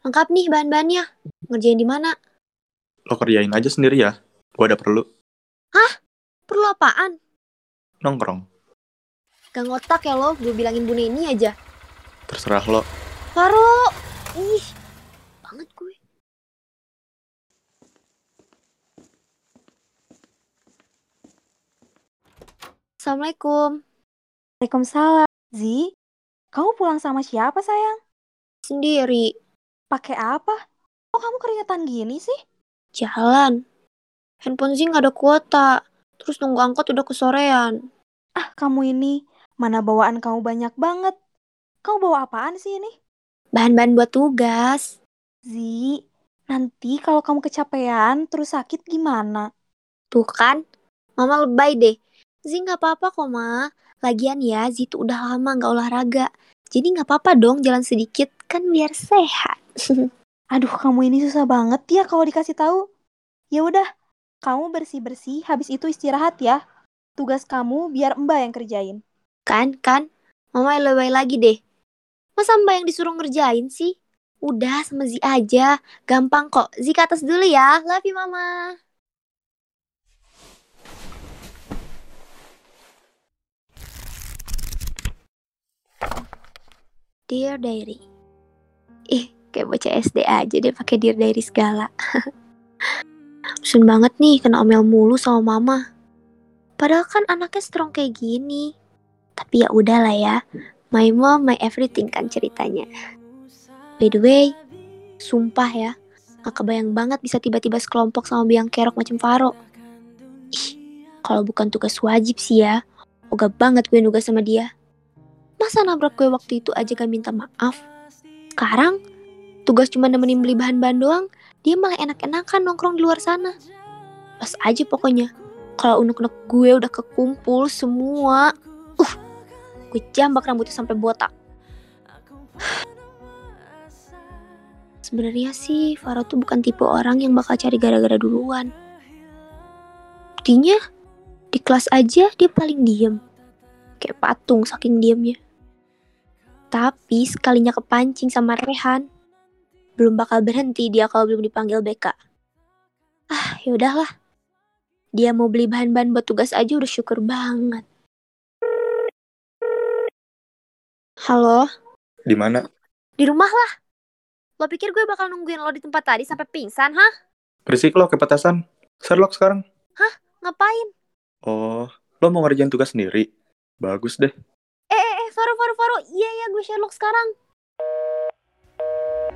Lengkap nih bahan-bahannya. Ngerjain di mana? Lo kerjain aja sendiri ya. Gue ada perlu. Hah? Perlu apaan? Nongkrong. Gak ngotak ya lo, gue bilangin Bu Neni aja. Terserah lo. Faro! Ih, banget gue. Assalamualaikum. Waalaikumsalam. Zi, kamu pulang sama siapa sayang? Sendiri. Pakai apa? Kok kamu keringetan gini sih? Jalan. Handphone Zing gak ada kuota. Terus nunggu angkot udah kesorean. Ah, kamu ini, mana bawaan kamu banyak banget. Kamu bawa apaan sih ini? Bahan-bahan buat tugas. Zi, nanti kalau kamu kecapean terus sakit gimana? Tuh kan, Mama lebay deh. Zing gak apa-apa kok, Ma. Lagian ya, Zi tuh udah lama gak olahraga. Jadi gak apa-apa dong jalan sedikit, kan biar sehat. Aduh, kamu ini susah banget ya kalau dikasih tahu. Ya udah, kamu bersih-bersih, habis itu istirahat ya. Tugas kamu biar Mbak yang kerjain. Kan, Mama lebay lagi deh. Masa Mbak yang disuruh ngerjain sih? Udah sama Zi aja, gampang kok. Zi ke atas dulu ya, love you Mama. Dear Diary. Ih, kayak bocah SD aja deh pakai Dear Diary segala. Bosen banget nih kena omel mulu sama Mama. Padahal kan anaknya strong kayak gini. Tapi ya udahlah ya. My mom, my everything kan ceritanya. By the way, sumpah ya, gak kebayang banget bisa tiba-tiba sekelompok sama biang kerok macam Faro. Ih, kalau bukan tugas wajib sih ya, ogah banget gue nugas sama dia. Masa nabrak gue waktu itu aja gak minta maaf? Sekarang, tugas cuma nemenin beli bahan-bahan doang, dia malah enak-enakan nongkrong di luar sana. Pas aja pokoknya, kalau unek-unek gue udah kekumpul semua, gue jambak rambutnya sampai botak. Sebenarnya sih Faro tuh bukan tipe orang yang bakal cari gara-gara duluan. Buktinya di kelas aja dia paling diem, kayak patung saking diemnya. Tapi sekalinya kepancing sama Rehan, belum bakal berhenti dia kalau belum dipanggil BK. Ah, yaudahlah. Dia mau beli bahan-bahan buat tugas aja udah syukur banget. Halo? Di mana? Di rumah lah. Lo pikir gue bakal nungguin lo di tempat tadi sampai pingsan, hah? Berisik lo ke petasan. Sherlock sekarang. Ngapain? Oh, lo mau ngerjain tugas sendiri? Bagus deh. Faro. Iya, gue Sherlock sekarang.